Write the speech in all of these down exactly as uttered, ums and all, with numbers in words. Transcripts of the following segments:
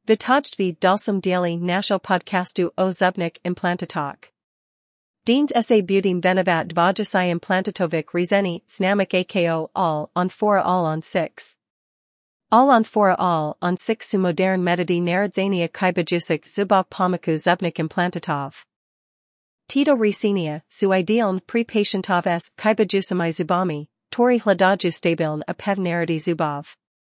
Vytojdvi dalsum dieli nashel podcastu o zubnik implantatok. Deans sa butim venevat dvajasai implantatovic rezeni snamik ako all on fora all on six. All on fora all on six su modern metody narodzania kybajusik zubov pomaku zubnik implantatov. Tito Resenia, su idealn pre-patientov s kybajusamai zubami, tori hladaju stabiln a pevnarity zubov.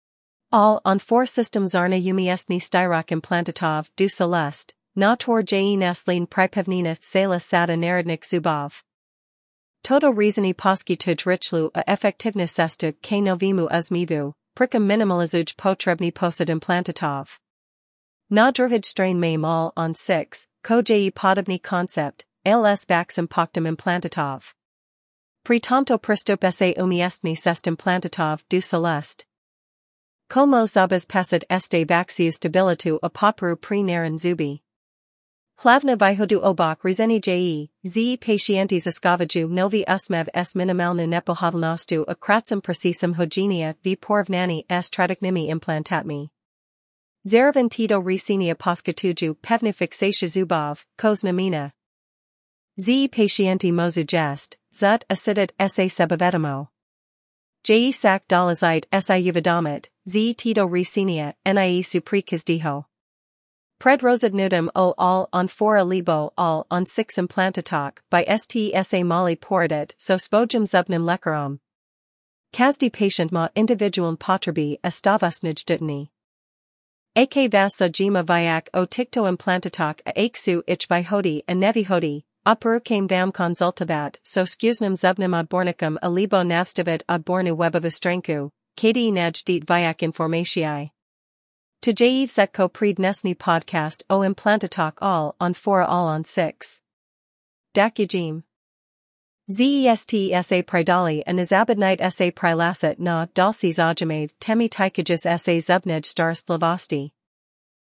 All on four systems zarna umiestmi styrok implantatov du celest, na tor je naslin pripevnina sela sada narodnik zubov. Toto rezeni poskituj richlu a effectiveness estu k novimu uzmivu, prikam minimalizuj potrebni posad implantatov. Na druhaj strain maim all on six, ko je podobni concept, ls vaxim poktum implantatov. Pritomto pristup sa umiestmi sest implantatov du celest. Como zabas pasid este vaxiu stabilitu a popru pre naran zubi. Hlavna vyhodu obok rezeni je, z patientes escavaju novi usmev s minimalnu nepohavlnostu a kratsum precisum hogenia v porvnani s tradiknimi implantatmi. Zaravan Tito Resenia poskatuju pevni fixatia zubov, koznamina. Z patienti mozu jest, zut acidit sa sebavetamo. Je sak dolazite si uvidamit, z Tito Resenia, nie suprikis diho. Pred rosadnudum o all on fora libo all on six implantatok by stsa mali poradit so spojum zubnim lekarom. Kazdi patient ma individualn potrebi estavasnij dutni. Ak vasa jima vyak o tikto implantatok a aksu ich vyhodi a nevihodi. Upper came vam konsultavat so skuznem zubnim odbornikum a libo navstavit odbornu webovistrenku, kdi naj dit vyak informatii. To jeev setko pred nesni podcast o implantatok all on fora all on six. Dakujim. Zest sa pridali a nazabadnite sa prilasit na dalsi zajamav temi tikajus sa zubnej star slavosti.